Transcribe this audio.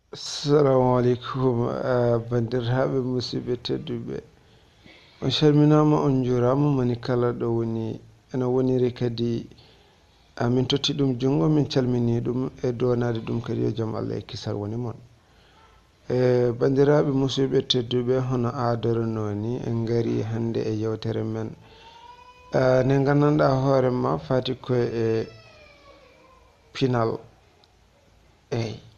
Assalamu alaikum bandiraɓe musidɓe tedduɓe, on calminama on jurama mani kala ɗo woni ene woniri kadi min totti ɗum jungo min calmini ɗum e donade ɗum kadi yo jaam Allah e kisal woni moon. Bandiraɓe musidɓe tedduɓe, hono adoranoni en gari hande e yewtere men nde gandanɗa hoorema fati koye e pinal. Eyyi